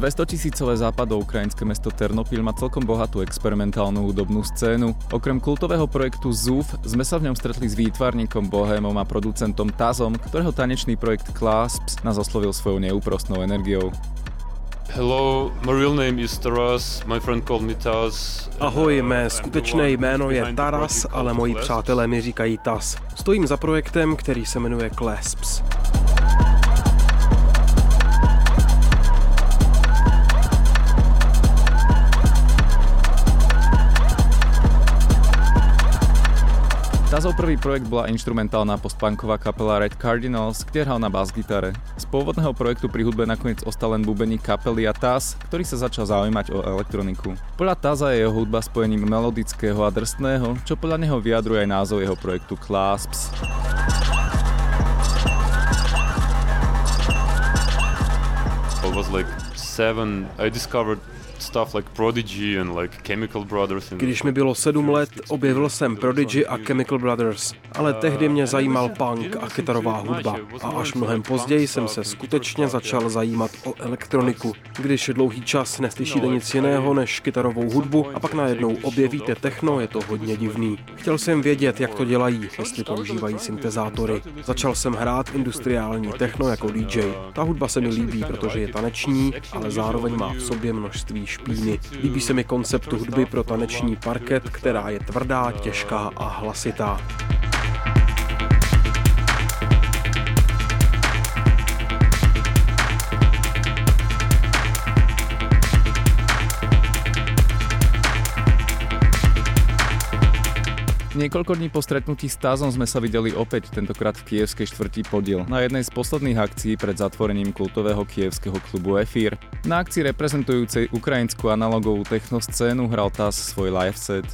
200 000 západoukrajinské mesto Ternopil má celkom bohatú experimentálnu hudobnú scénu. Okrem kultového projektu ZUF sme sa v ňom stretli s výtvarníkom, bohémom a producentom Tazom, ktorého tanečný projekt Clasps nás oslovil svojou neúprostnou energiou. Hello, my real name is Taras, my friend called me Taz. Ahoj, mé skutečné jméno je Taras, ale moji přátelé mi říkají Taz. Stojím za projektem, který se jmenuje Clasps. Tazov prvý projekt bola inštrumentálna postpunková kapela Red Cardinals, kde hral na bas-gitare. Z pôvodného projektu pri hudbe nakoniec ostal len bubeník kapely a Taz, ktorý sa začal zaujímať o elektroniku. Podľa Taza je jeho hudba spojením melodického a drsného, čo podľa neho vyjadruje aj názov jeho projektu Clasps. I was like 7, I discovered stuff like Prodigy and like Chemical Brothers. Když mi bylo 7 let, objevil jsem Prodigy a Chemical Brothers, ale tehdy mě zajímal punk a kytarová hudba. A až mnohem později jsem se skutečně začal zajímat o elektroniku. Když dlouhý čas neslyšíte nic jiného než kytarovou hudbu a pak najednou objevíte techno, je to hodně divný. Chtěl jsem vědět, jak to dělají, jestli používají syntezátory. Začal jsem hrát industriální techno jako DJ. Ta hudba se mi líbí, protože je taneční, ale zároveň má v sobě množství špíny. Líbí se mi koncept hudby pro taneční parket, která je tvrdá, těžká a hlasitá. Niekoľko dní po stretnutí s Tazom sme sa videli opäť, tentokrát v kievskej štvrti Podiel, na jednej z posledných akcií pred zatvorením kultového kievského klubu Efír. Na akcii reprezentujúcej ukrajinskú analogovú technoscénu hral Taz svoj live set.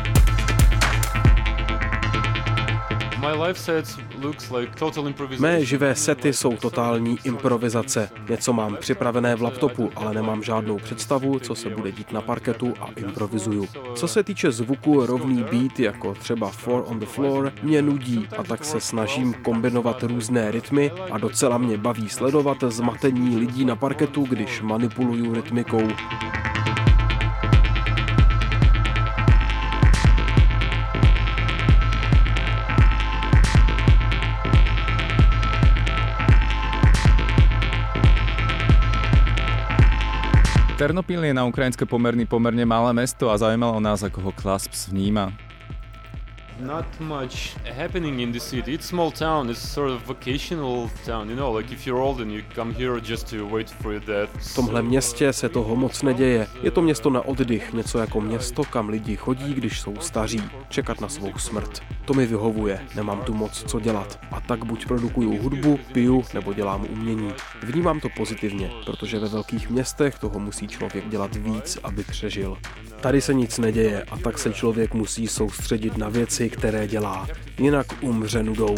Mé živé sety jsou totální improvizace. Něco mám připravené v laptopu, ale nemám žádnou představu, co se bude dít na parketu a improvizuju. Co se týče zvuku, rovný beat, jako třeba Four on the Floor, mě nudí a tak se snažím kombinovat různé rytmy a docela mě baví sledovat zmatení lidí na parketu, když manipuluju rytmikou. Ternopil je na ukrajinské pomerne malé mesto a zaujímalo nás, ako ho Clasps vníma. Not much happening in the city. It's a small town. It's sort of vacational town. You know, like if you're old and you come here just to wait for your death. V tomhle městě se toho moc neděje. Je to město na oddych, něco jako město, kam lidi chodí, když jsou staří, čekat na svou smrt. To mi vyhovuje, nemám tu moc co dělat. A tak buď produkuju hudbu, piju nebo dělám umění. Vnímám to pozitivně, protože ve velkých městech toho musí člověk dělat víc, aby přežil. Tady se nic neděje a tak se člověk musí soustředit na věci, které dělá, jinak umře nudou.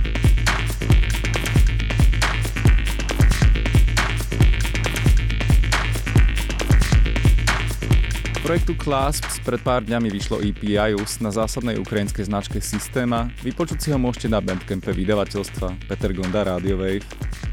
Projektu Clasps pred pár dňami vyšlo EP Ius na zásadnej ukrajinskej značke Systema. Vypočuť si ho môžete na Bandcampe vydavateľstva Peter Gonda Radio Wave.